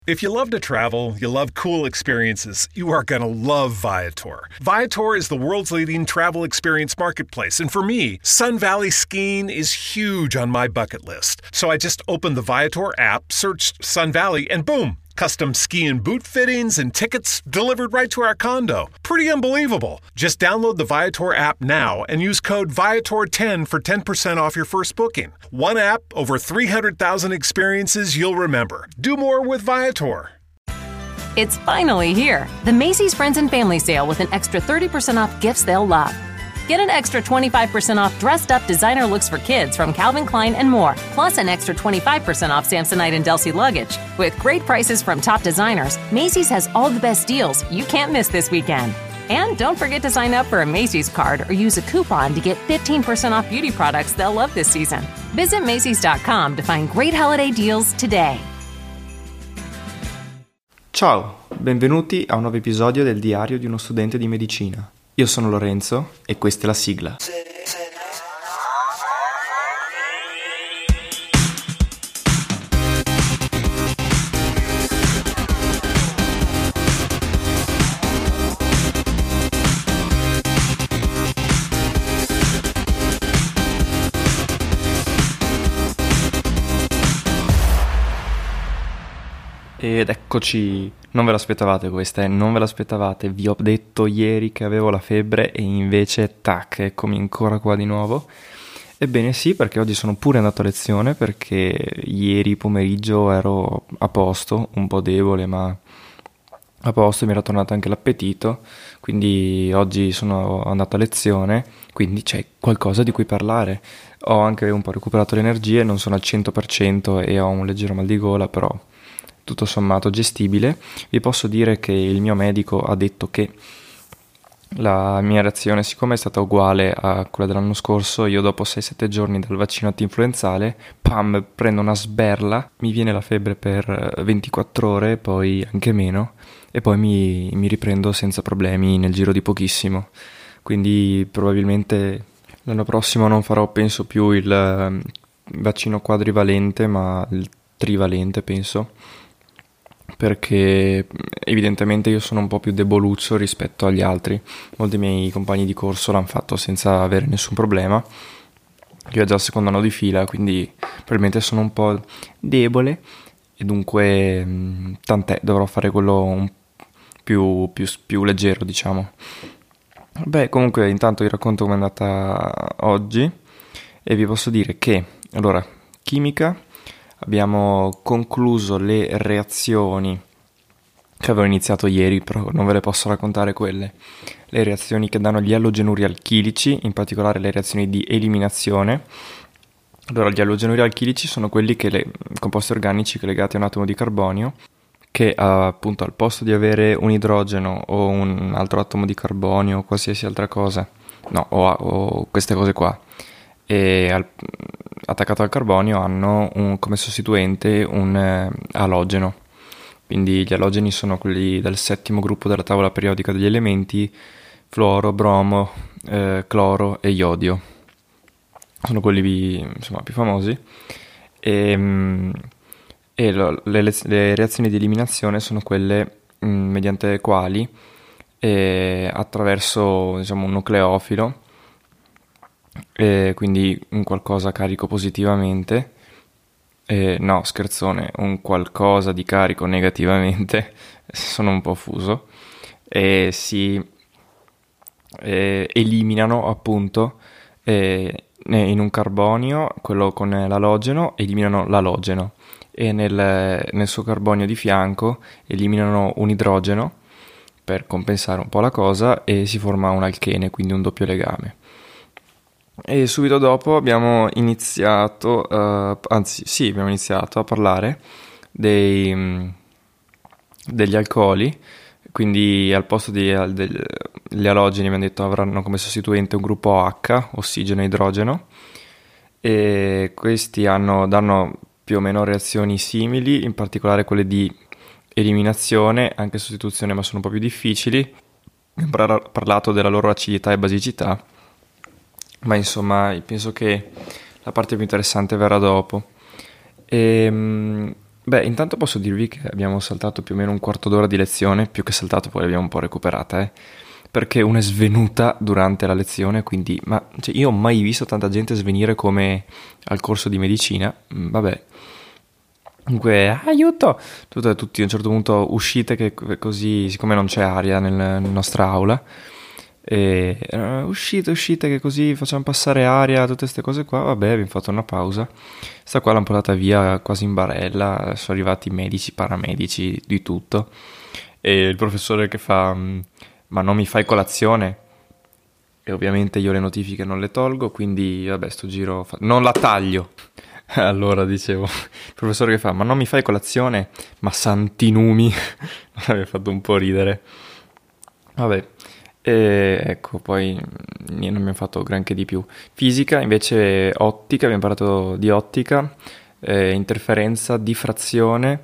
If you love to travel, you love cool experiences, you are going to love Viator. Viator is the world's leading travel experience marketplace, and for me, Sun Valley skiing is huge on my bucket list. So I just opened the Viator app, searched Sun Valley, and boom! Custom ski and boot fittings and tickets delivered right to our condo. Pretty unbelievable. Just download the Viator app now and use code Viator10 for 10% off your first booking. One app, over 300,000 experiences you'll remember. Do more with Viator. It's finally here, the Macy's Friends and Family Sale with an extra 30% off gifts they'll love. Get an extra 25% off dressed-up designer looks for kids from Calvin Klein and more, plus an extra 25% off Samsonite and Delsey luggage. With great prices from top designers, Macy's has all the best deals you can't miss this weekend. And don't forget to sign up for a Macy's card or use a coupon to get 15% off beauty products they'll love this season. Visit Macys.com to find great holiday deals today. Ciao, benvenuti a un nuovo episodio del diario di uno studente di medicina. Io sono Lorenzo e questa è la sigla. Ed eccoci, non ve l'aspettavate questa, non ve l'aspettavate, vi ho detto ieri che avevo la febbre e invece tac, eccomi ancora qua di nuovo. Ebbene sì, perché oggi sono pure andato a lezione, perché ieri pomeriggio ero a posto, un po' debole ma a posto, mi era tornato anche l'appetito, quindi oggi sono andato a lezione, quindi c'è qualcosa di cui parlare. Ho anche un po' recuperato le energie, non sono al 100% e ho un leggero mal di gola, però tutto sommato gestibile. Vi posso dire che il mio medico ha detto che la mia reazione, siccome è stata uguale a quella dell'anno scorso, io dopo 6-7 giorni dal vaccino antinfluenzale, pam, prendo una sberla, mi viene la febbre per 24 ore, poi anche meno, e poi mi riprendo senza problemi nel giro di pochissimo. Quindi probabilmente l'anno prossimo non farò, penso, più il vaccino quadrivalente, ma il trivalente, penso, perché evidentemente io sono un po' più deboluccio rispetto agli altri. Molti miei compagni di corso l'hanno fatto senza avere nessun problema. Io ho già il secondo anno di fila, quindi probabilmente sono un po' debole e dunque tant'è, dovrò fare quello più leggero, diciamo. Beh, comunque intanto vi racconto come è andata oggi e vi posso dire che, allora, chimica, abbiamo concluso le reazioni che avevo iniziato ieri, però non ve le posso raccontare quelle. Le reazioni che danno gli allogenuri alchilici, in particolare le reazioni di eliminazione. Allora, gli allogenuri alchilici sono quelli composti organici legati a un atomo di carbonio, che appunto al posto di avere un idrogeno o un altro atomo di carbonio o qualsiasi altra cosa, o queste cose qua, e attaccato al carbonio hanno come sostituente un alogeno. Quindi gli alogeni sono quelli del settimo gruppo della tavola periodica degli elementi: fluoro, bromo, cloro e iodio. Sono quelli insomma più famosi. Le reazioni di eliminazione sono quelle mediante le quali attraverso, diciamo, un nucleofilo, quindi un qualcosa carico positivamente, no scherzone, un qualcosa di carico negativamente, sono un po' fuso, e si eliminano appunto in un carbonio, quello con l'alogeno, eliminano l'alogeno, e nel suo carbonio di fianco eliminano un idrogeno per compensare un po' la cosa e si forma un alchene, quindi un doppio legame. E subito dopo abbiamo iniziato a parlare degli alcoli, quindi al posto degli alogeni abbiamo detto avranno come sostituente un gruppo H, ossigeno e idrogeno, e questi danno più o meno reazioni simili, in particolare quelle di eliminazione, anche sostituzione, ma sono un po' più difficili. Abbiamo parlato della loro acidità e basicità, ma insomma penso che la parte più interessante verrà dopo. Beh, intanto posso dirvi che abbiamo saltato più o meno un quarto d'ora di lezione, più che saltato poi l'abbiamo un po' recuperata, perché una è svenuta durante la lezione, quindi cioè, io ho mai visto tanta gente svenire come al corso di medicina, vabbè. Comunque, aiuto! Tutti a un certo punto uscite, che così, siccome non c'è aria nella nostra aula, e uscite che così facciamo passare aria, tutte queste cose qua. Vabbè, abbiamo fatto una pausa. Sta qua l'hanno portata via quasi in barella, sono arrivati medici, paramedici, di tutto, e il professore che fa: ma non mi fai colazione? E ovviamente io le notifiche non le tolgo, quindi vabbè, sto giro non la taglio. Allora dicevo, il professore che fa: ma non mi fai colazione? Ma santi numi. Mi aveva fatto un po' ridere. Vabbè, e ecco, poi non abbiamo fatto granché di più. Fisica, invece ottica, abbiamo parlato di ottica, interferenza, diffrazione,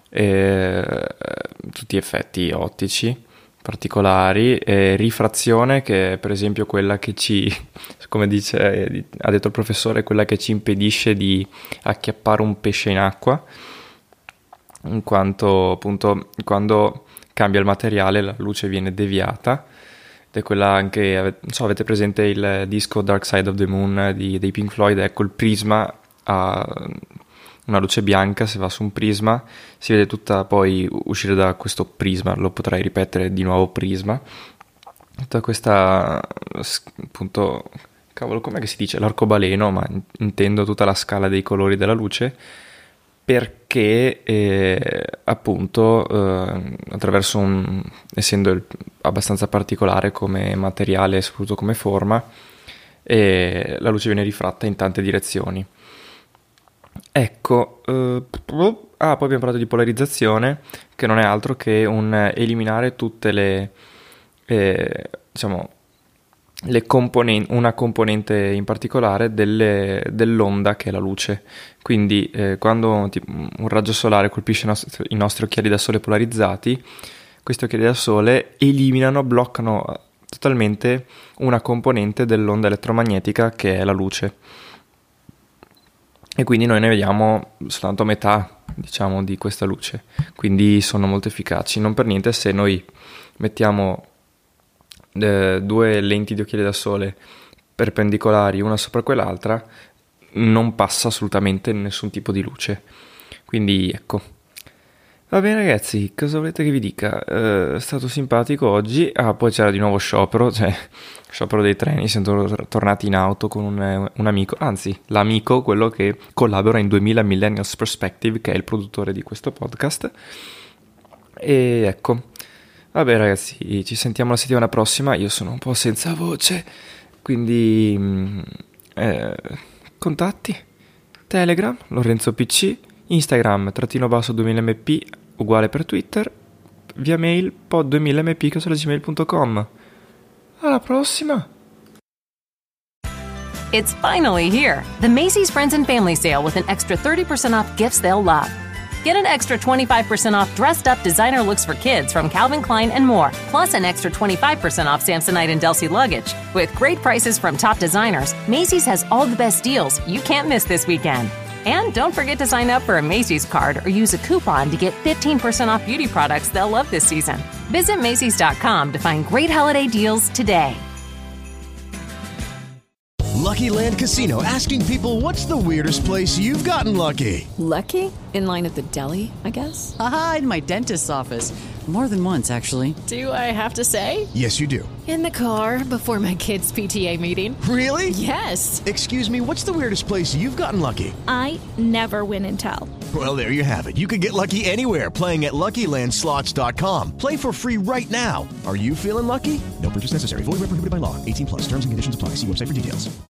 tutti effetti ottici particolari, rifrazione, che è per esempio quella che come ha detto il professore, quella che ci impedisce di acchiappare un pesce in acqua, in quanto appunto quando cambia il materiale la luce viene deviata. Ed è quella anche, non so, avete presente il disco Dark Side of the Moon dei Pink Floyd? Ecco, il prisma ha una luce bianca, se va su un prisma si vede tutta, poi uscire da questo prisma, lo potrei ripetere di nuovo, prisma, tutta questa, appunto, cavolo, com'è che si dice? L'arcobaleno, ma intendo tutta la scala dei colori della luce, perché appunto attraverso essendo abbastanza particolare come materiale e soprattutto come forma, la luce viene rifratta in tante direzioni. Ecco, poi abbiamo parlato di polarizzazione, che non è altro che eliminare tutte le una componente in particolare dell'onda che è la luce. Quindi quando un raggio solare colpisce i nostri occhiali da sole polarizzati, questi occhiali da sole bloccano totalmente una componente dell'onda elettromagnetica che è la luce. E quindi noi ne vediamo soltanto metà, diciamo, di questa luce. Quindi sono molto efficaci. Non per niente, se noi mettiamo due lenti di occhiali da sole perpendicolari una sopra quell'altra, non passa assolutamente nessun tipo di luce. Quindi ecco. Va bene ragazzi, cosa volete che vi dica? È stato simpatico oggi. Poi c'era di nuovo sciopero dei treni. Siamo tornati in auto con un amico, anzi l'amico, quello che collabora in 2000 Millennials Perspective, che è il produttore di questo podcast. E ecco, vabbè ragazzi, ci sentiamo la settimana prossima. Io sono un po' senza voce, quindi contatti Telegram Lorenzo PC, Instagram _2000mp uguale per Twitter, via mail pod2000mp@gmail.com. Alla prossima! It's finally here, the Macy's Friends and Family Sale with an extra 30% off gifts they'll love. Get an extra 25% off dressed up designer looks for kids from Calvin Klein and more, plus an extra 25% off Samsonite and Delsey luggage. With great prices from top designers, Macy's has all the best deals you can't miss this weekend. And don't forget to sign up for a Macy's card or use a coupon to get 15% off beauty products they'll love this season. Visit Macys.com to find great holiday deals today. Lucky Land Casino, asking people, what's the weirdest place you've gotten lucky? Lucky? In line at the deli, I guess? Aha, in my dentist's office. More than once, actually. Do I have to say? Yes, you do. In the car before my kids' PTA meeting. Really? Yes. Excuse me, what's the weirdest place you've gotten lucky? I never win and tell. Well, there you have it. You can get lucky anywhere, playing at LuckyLandSlots.com. Play for free right now. Are you feeling lucky? No purchase necessary. Void where prohibited by law. 18+. Terms and conditions apply. See website for details.